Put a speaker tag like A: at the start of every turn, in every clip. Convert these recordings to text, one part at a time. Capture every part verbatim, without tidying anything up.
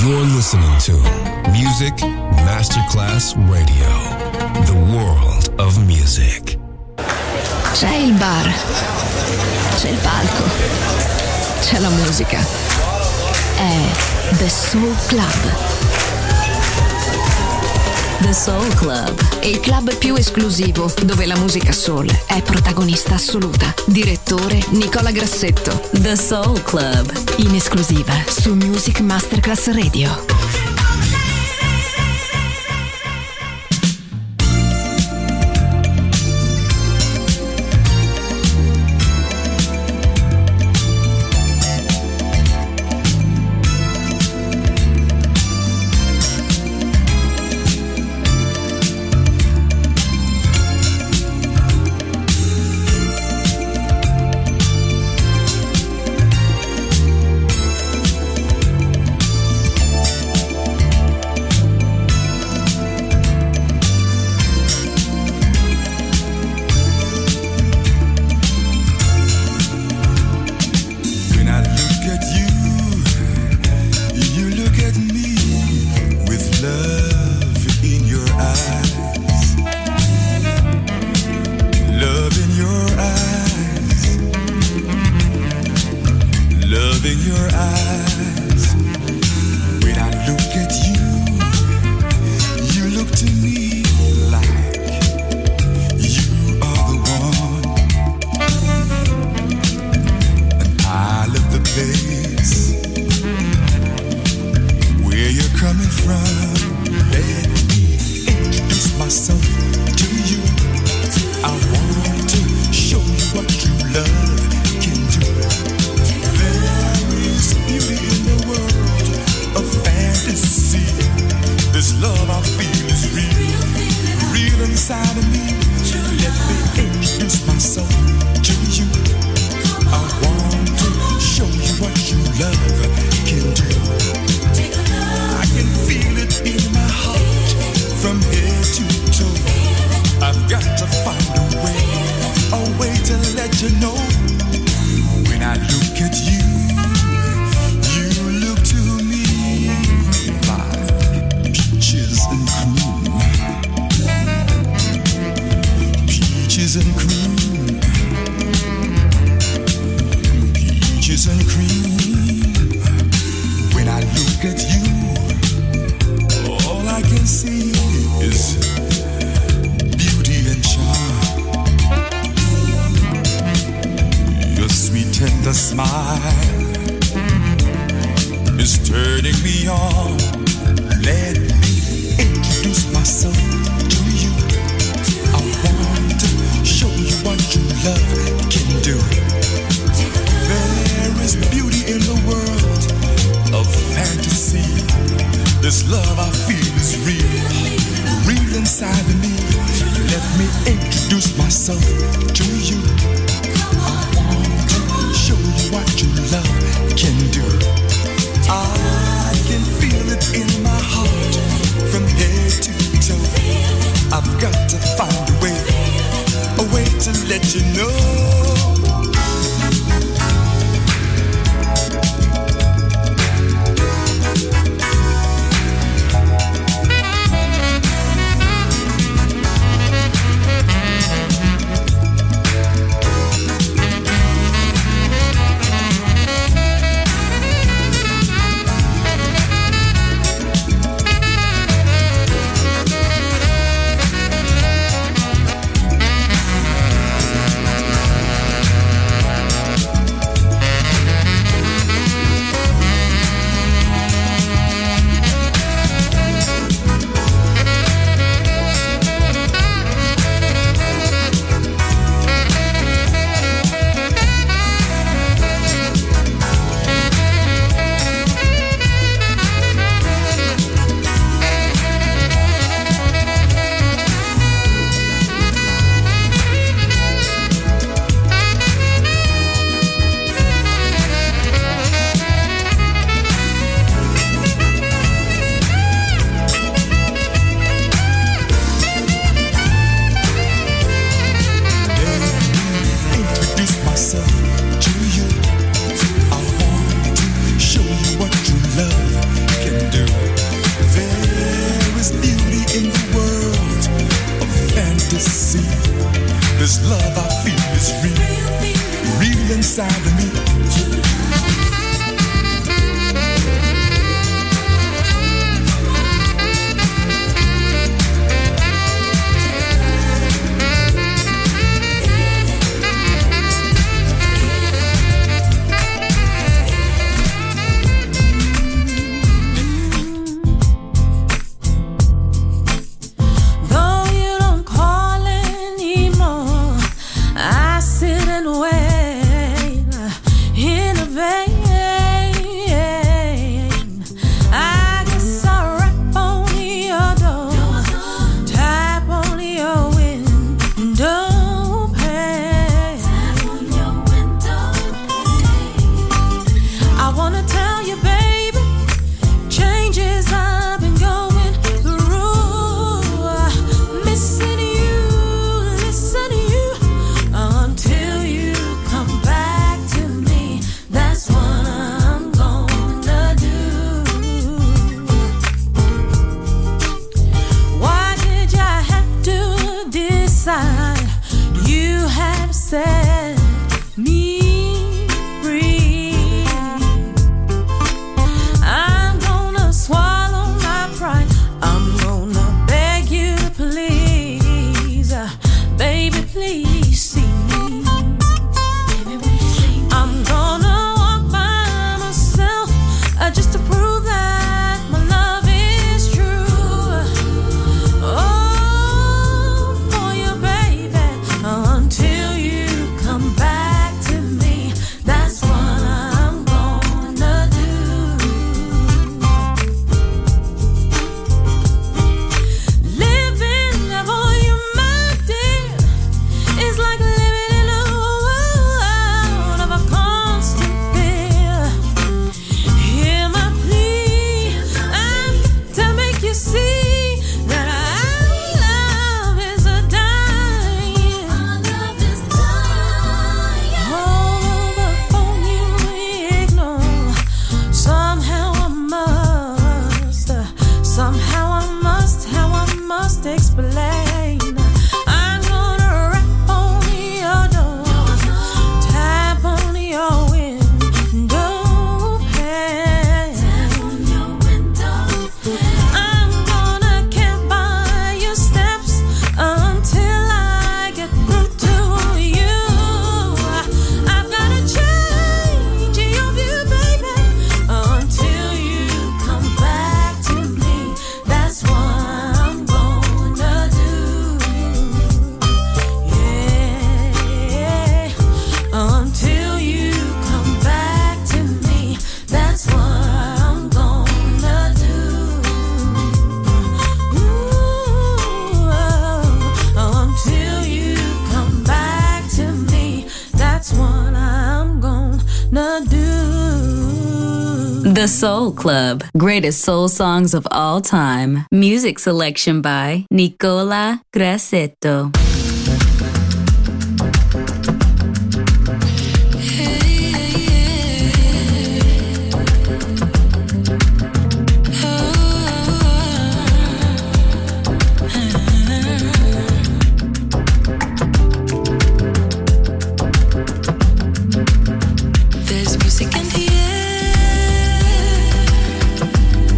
A: You're listening to Music Masterclass Radio, the world of music.
B: C'è il bar, c'è il palco, c'è la musica. È The Soul Club. The Soul Club, il club più esclusivo dove la musica soul è protagonista assoluta. Direttore Nicola Grassetto. The Soul Club, in esclusiva su Music Masterclass Radio. The Soul Club. Greatest soul songs of all time. Music selection by Nicola Grassetto.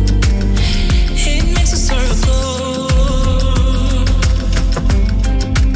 C: It makes a circle.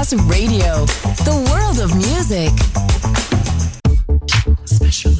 C: Masterclass Radio, the world of music. Special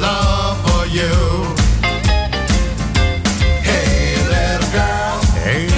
D: Hey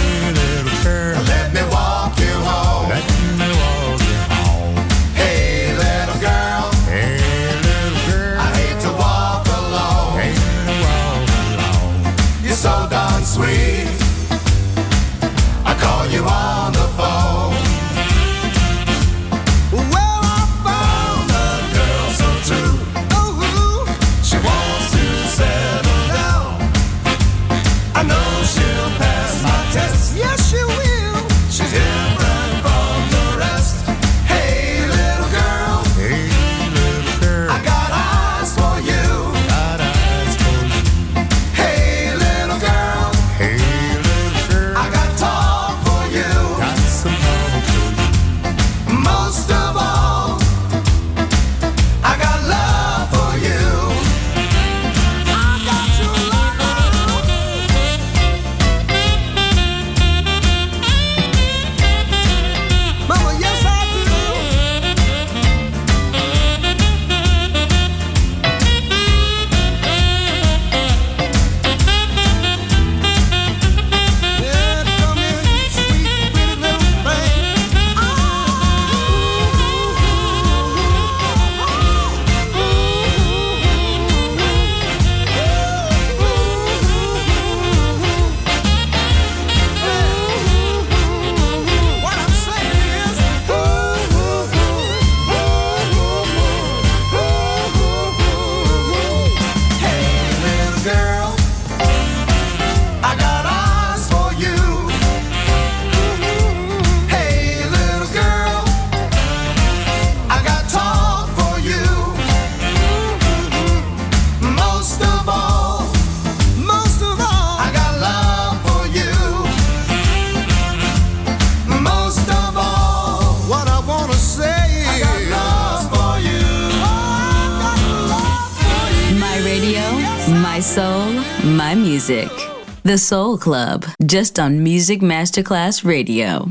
C: soul, my music. The Soul Club, just on Music Masterclass Radio.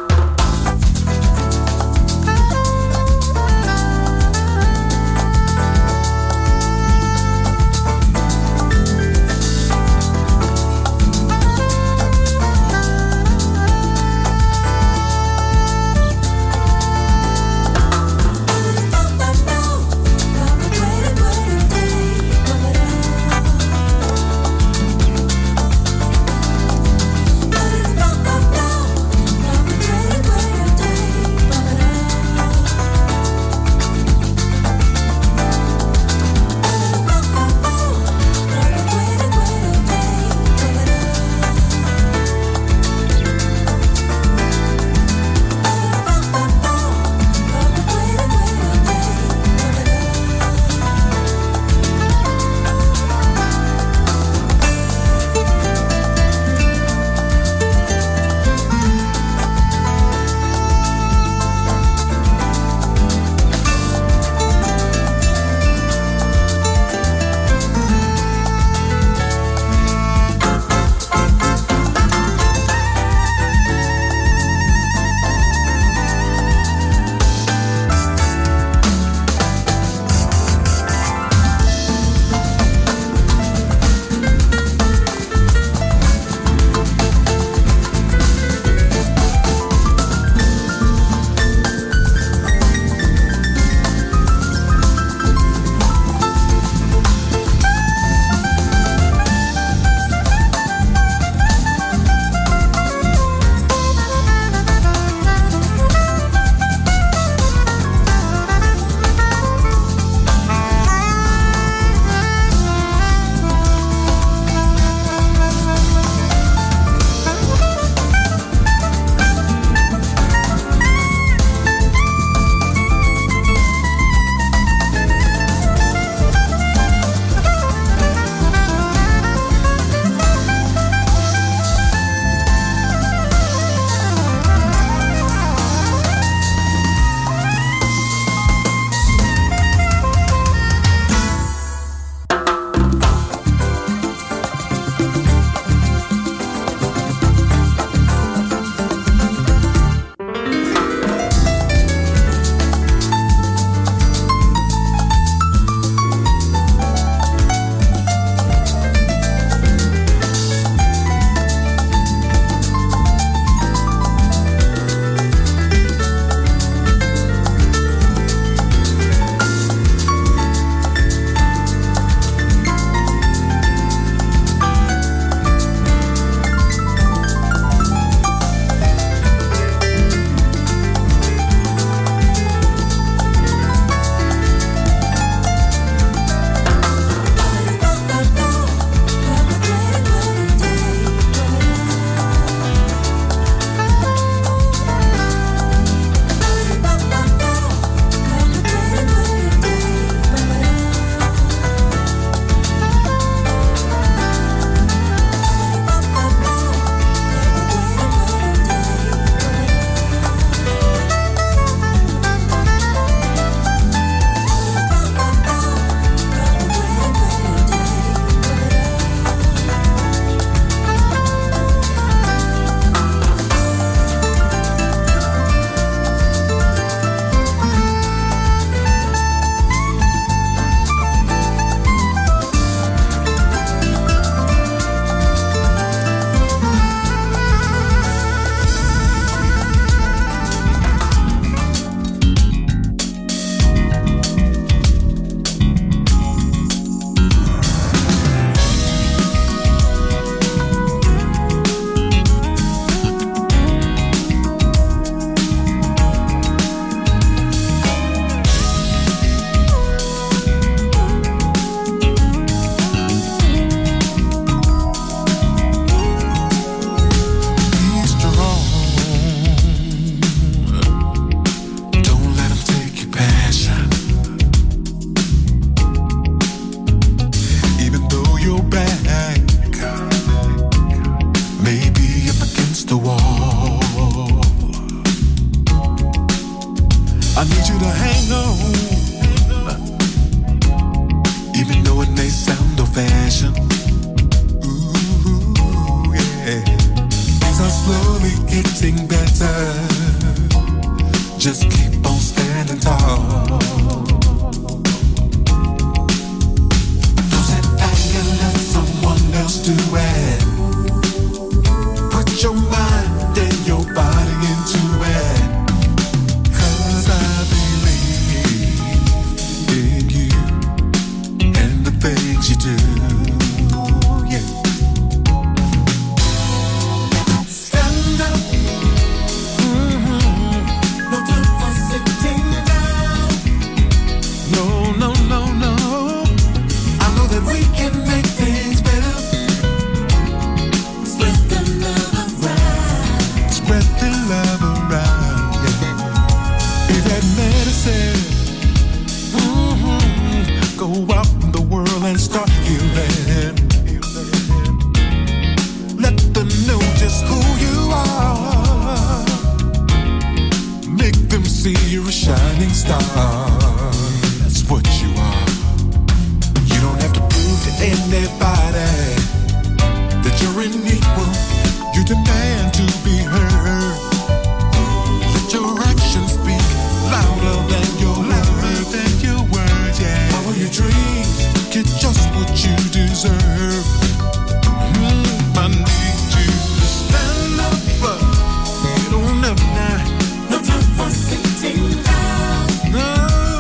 D: I need you to hang on, even though it may sound fashion. Ooh, yeah. Things are slowly getting better. Just keep on standing tall. Don't sit back and let someone else do it. Put your mind and your body into it. 'Cause I believe in you and the things you do. Yeah. Stand up. Mm-hmm. No time for sitting down. No, no, no, no. I know that we can make things better. Spread the love around. Spread the love around, yeah. Be that medicine. Mm-hmm. Go out in the world and start healing. Let them know just who you are. Make them see you're a shining star. That's what you are. You don't have to prove to anybody that you're an equal. You demand to be heard. Let your actions speak louder than your louder than your words. Yeah. Follow your dreams, get just what you deserve. Mm, I need you to stand up. Get on up now. No time for sitting down. No.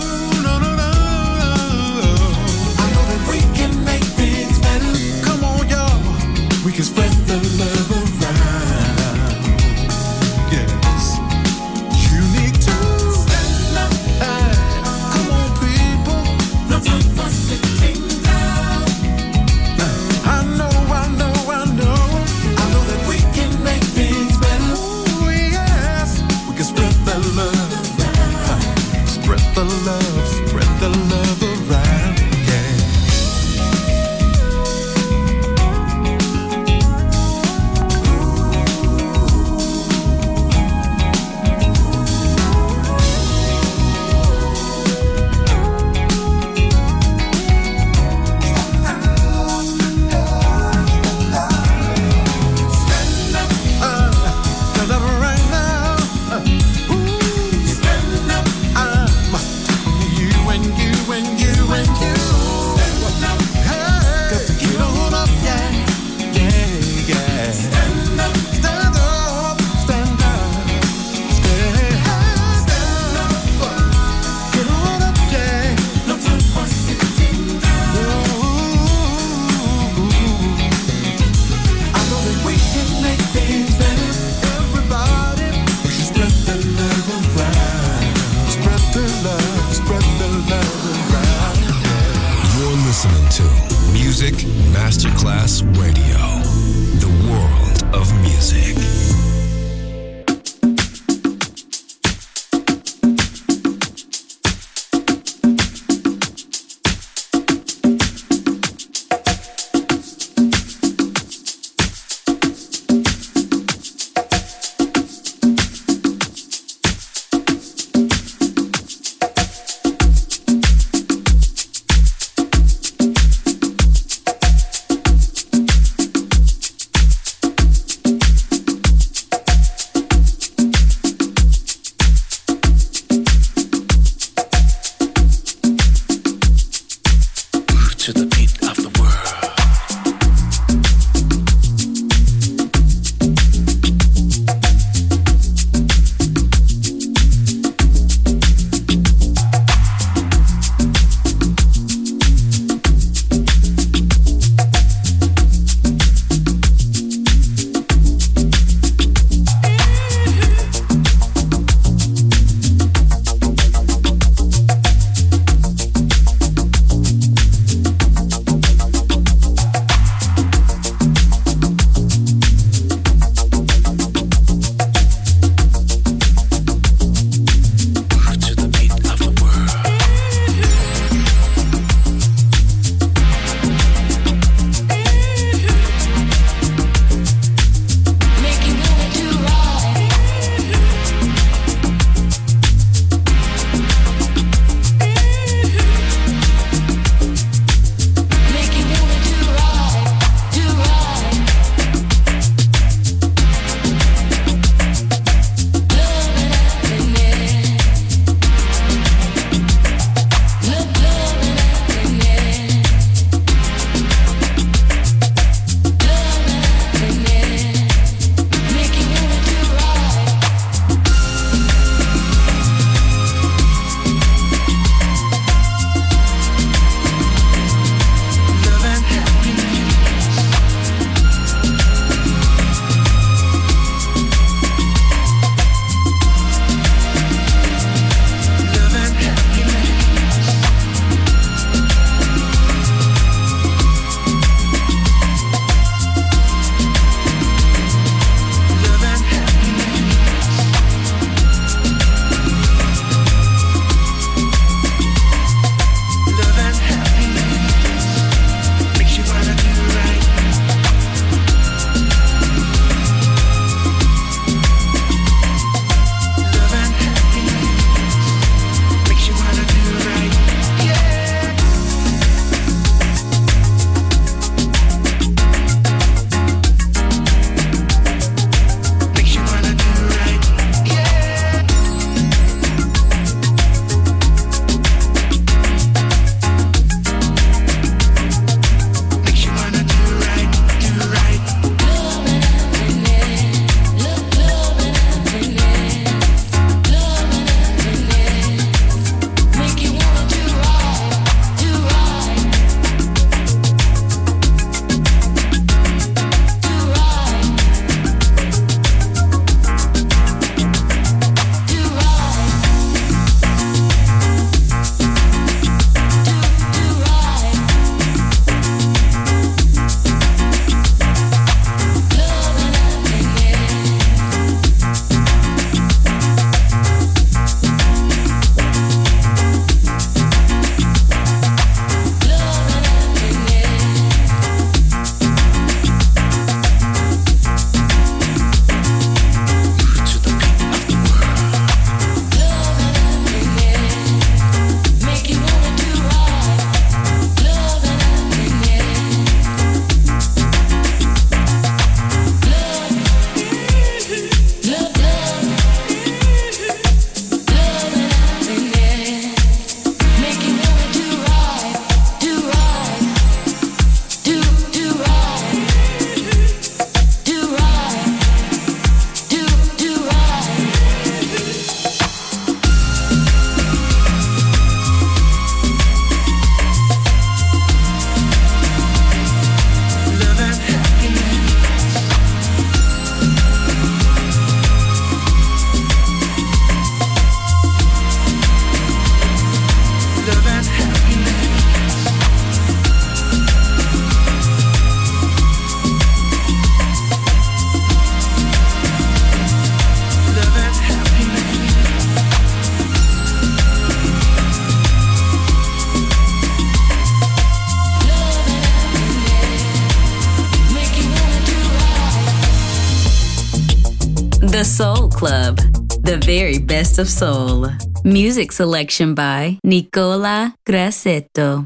C: The Soul Club, the very best of soul. Music selection by Nicola Grassetto.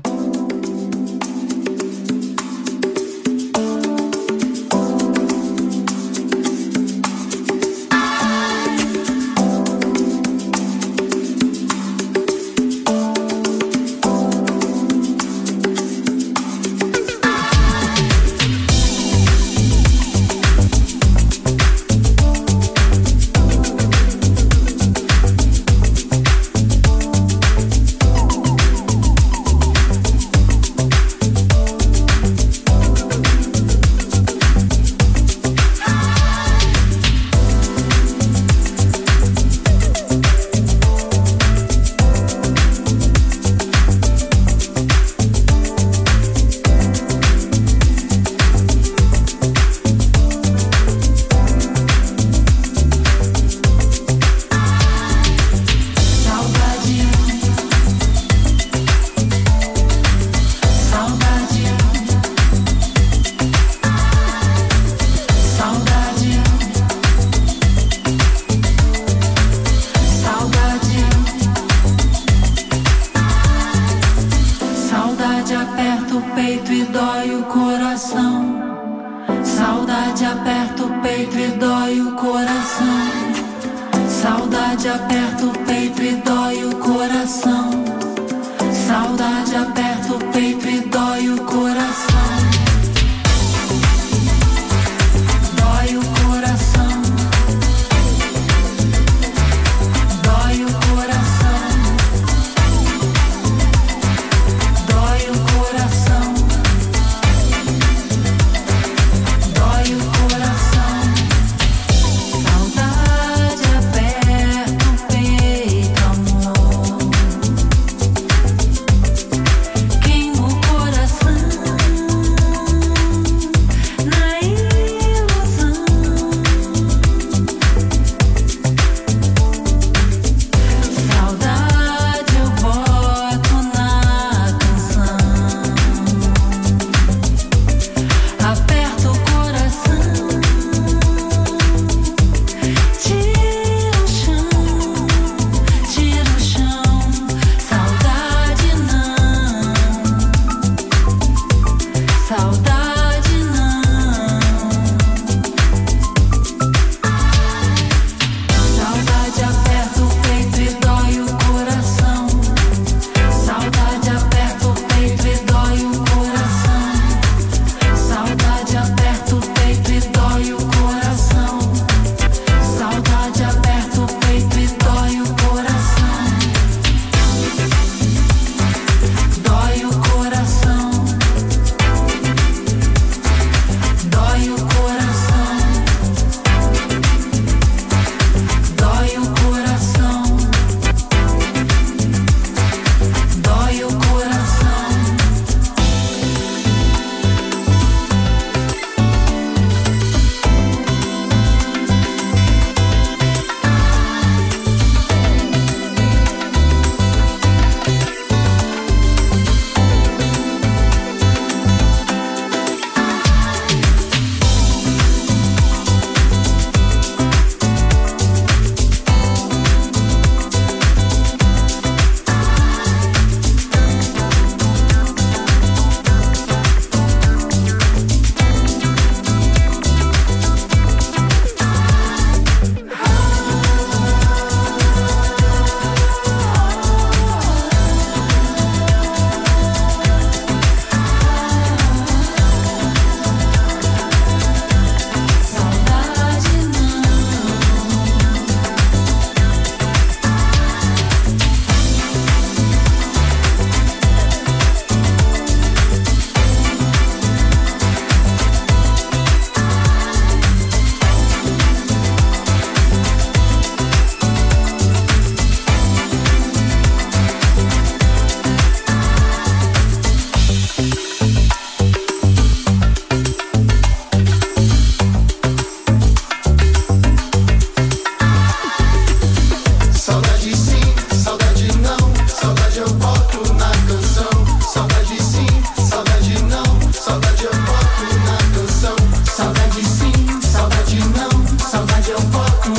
E: Saudade aperta o peito, amor.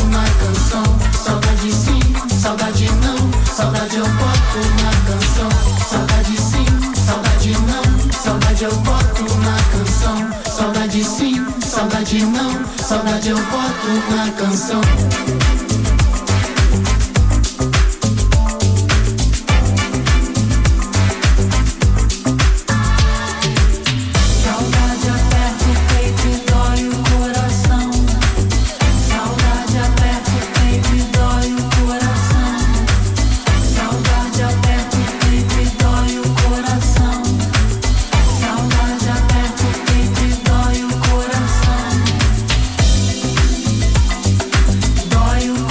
E: na canção. Saudade sim, saudade não, saudade eu boto na canção. Saudade sim, saudade não, saudade eu boto na canção. Saudade sim, saudade não, saudade eu boto na canção.
F: Dói o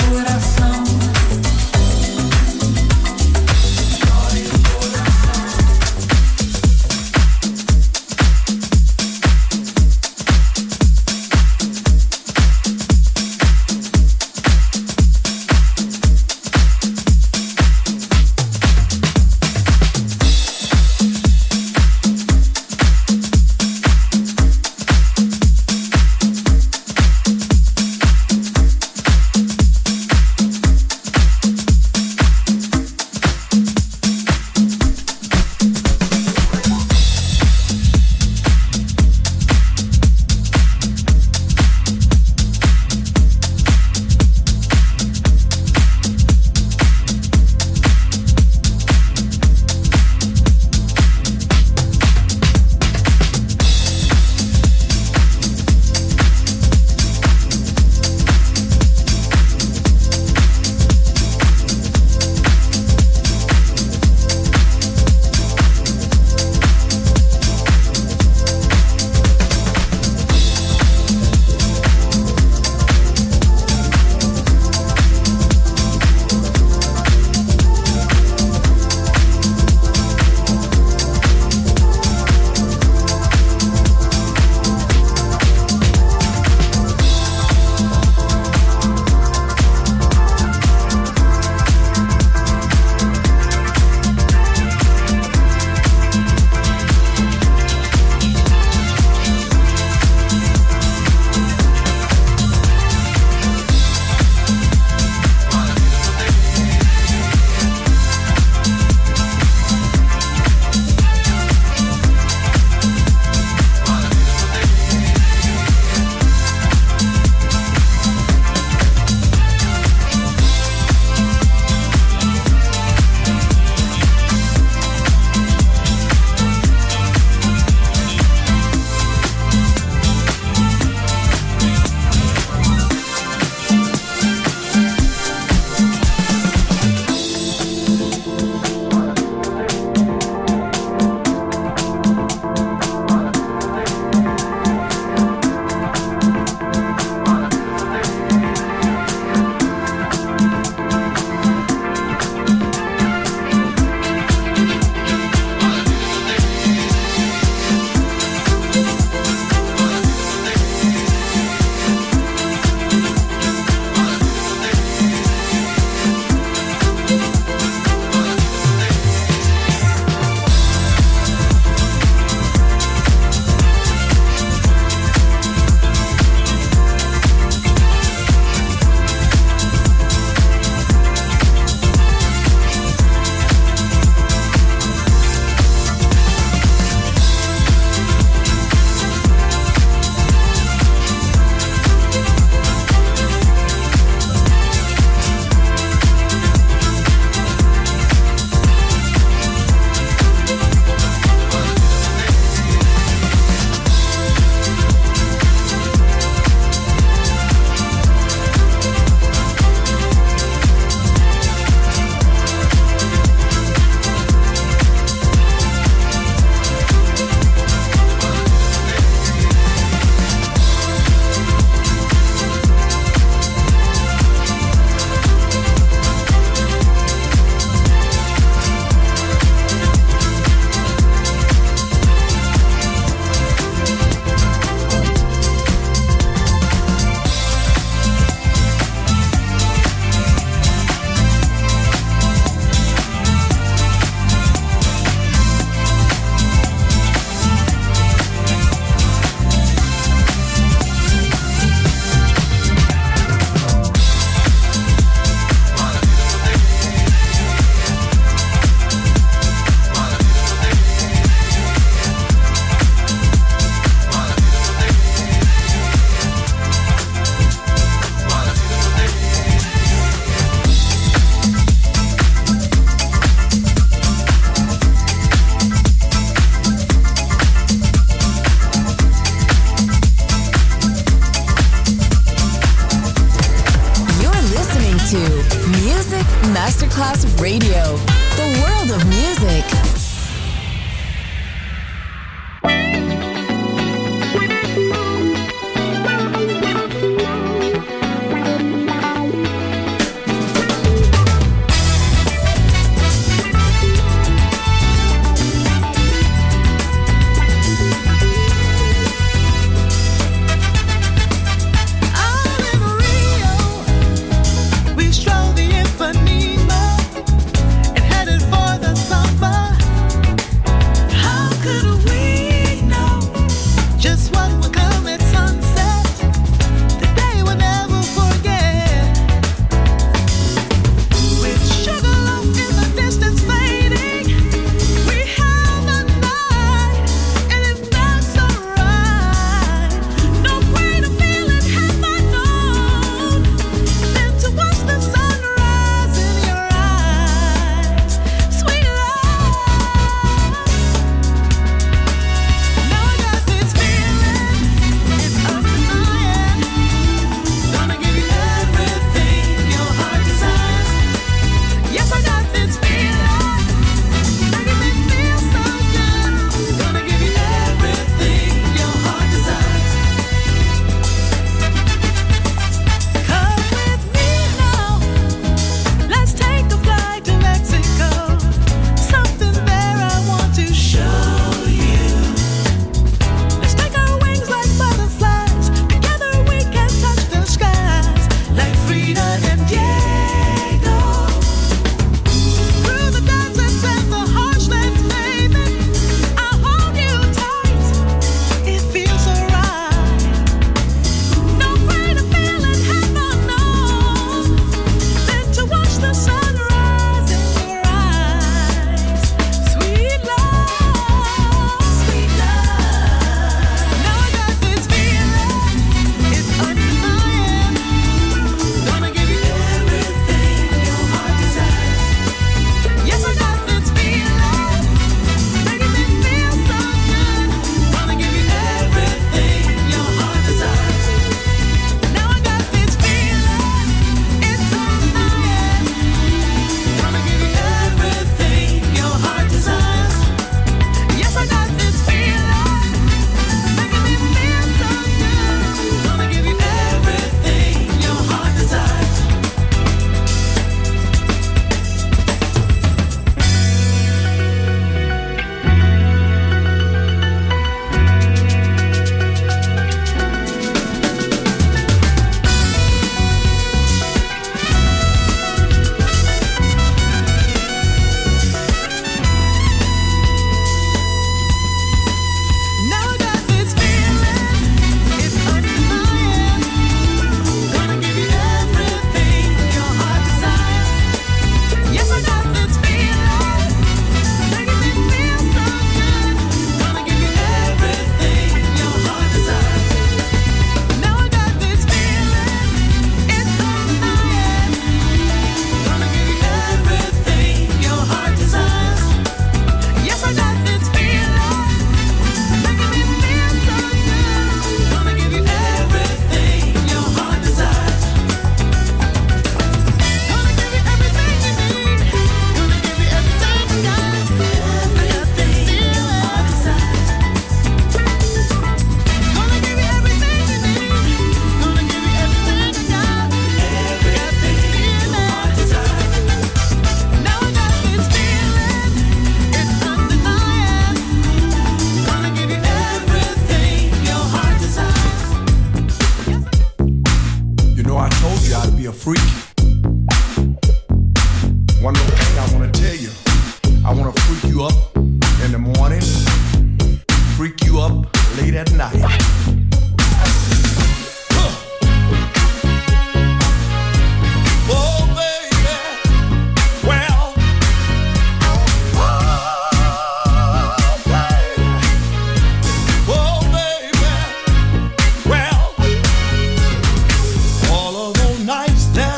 F: Music Masterclass Radio. The world of music.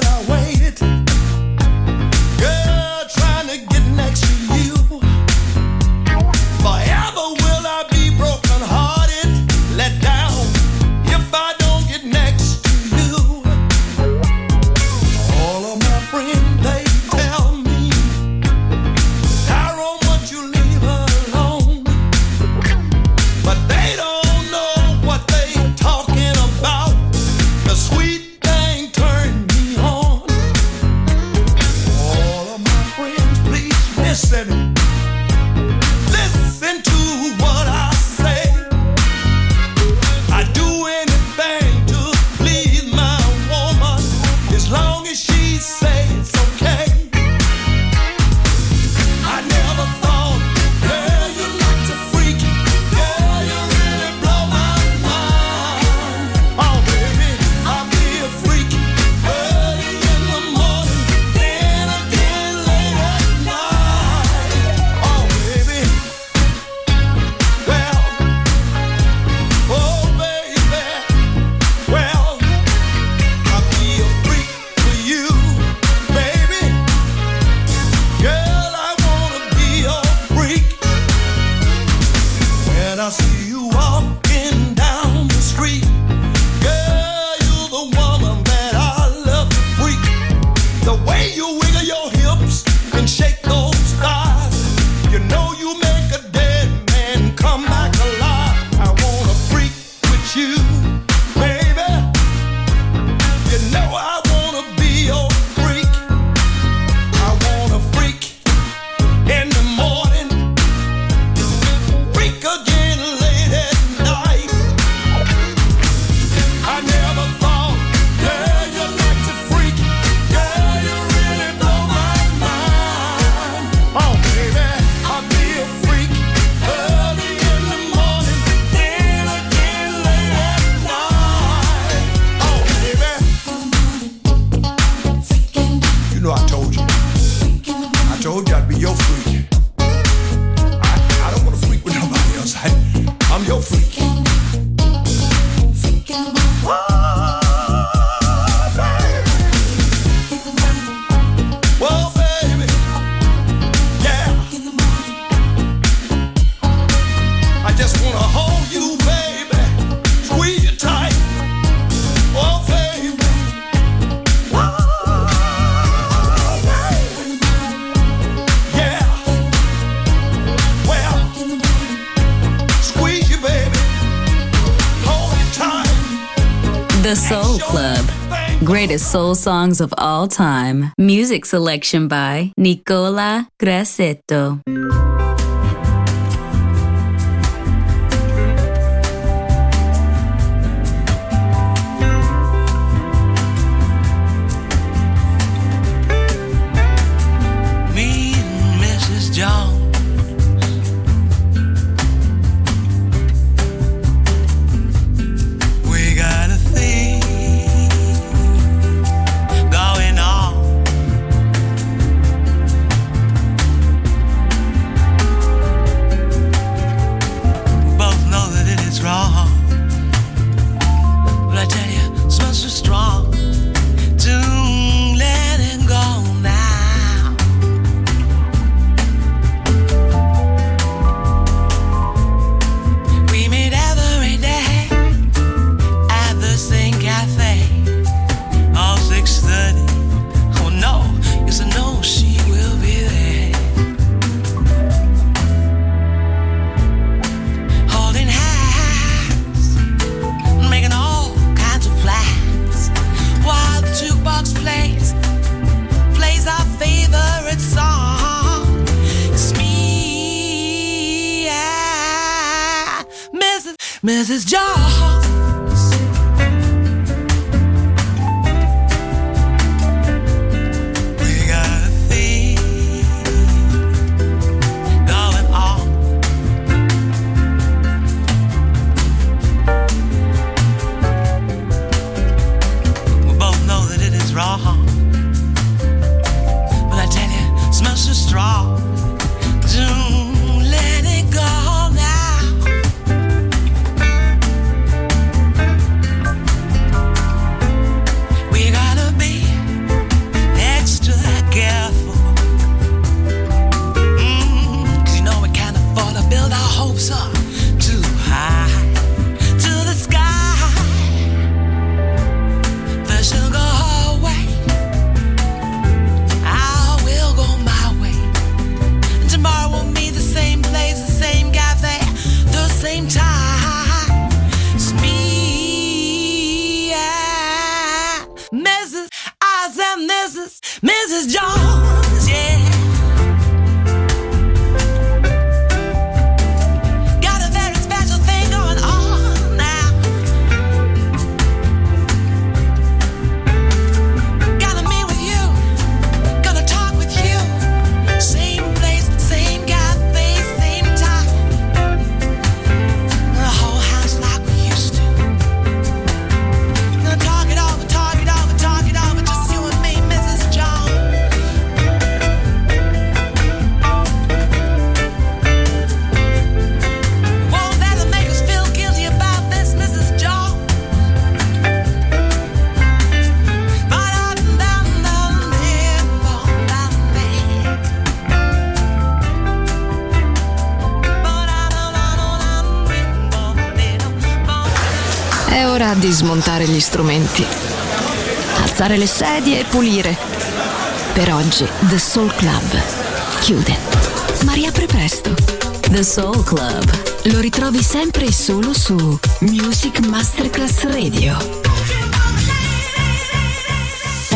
G: Girl, trying to get next to you.
D: she says okay. I never thought, girl, you like to freak. Girl, you really blow my mind. Oh, baby, I'll be a freak early in the morning, then again late at night. Oh, baby, well, oh, baby, well, I'll be a freak for you, baby. Girl, I wanna be a freak. When I see you walking down the street, girl, you're the woman that I love to freak. The way you wiggle your hips and shake those thighs, you know you make a dead man come back alive. I wanna freak with you, baby. You know I wanna be your freak. I wanna freak in the morning, freak again late at night. I never thought, girl, you like to freak. Girl, you really blow my mind. Oh, baby, I'll be a freak early in the morning, then again late at night. Oh, baby. You know I told you. I told you I'd be your freak. I, I don't want to freak with nobody else. I, I'm your freak. Oh, baby. Well, baby, yeah. I just want to hold you, baby, squeeze you tight. Oh, baby. Oh, baby. Yeah. Well, squeeze you, baby. Hold you tight.
C: The Soul Club. Greatest soul songs of all time. Music selection by Nicola Grassetto.
G: Me and Missus Jones we got a thing going on. We both know that it is wrong, but I tell you, it smells so strong to let it go now. We meet every day at the same cafe, all six thirty. Oh no, yes I know she will be there, holding hands, making all kinds of plans, while the jukebox plays plays our favorite song. It's me and Missus Missus Jones. We got a thing going on. We both know that it is wrong, but I tell you, it smells so strong. Don't let it go now. We gotta be extra careful. Mm, 'cause you know we can't afford to build our hopes up too high to the sky. First she'll go her way, I will go my way. And tomorrow we'll meet the same place, the same cafe, the same time. It's me and Missus I said Missus Missus Jones, yeah. Got a very special thing going on now. Gotta meet with
B: È ora di smontare gli strumenti, alzare le sedie e pulire. Per oggi The Soul Club chiude, ma riapre presto.
C: The Soul Club.
B: Lo ritrovi sempre e solo su Music Masterclass Radio.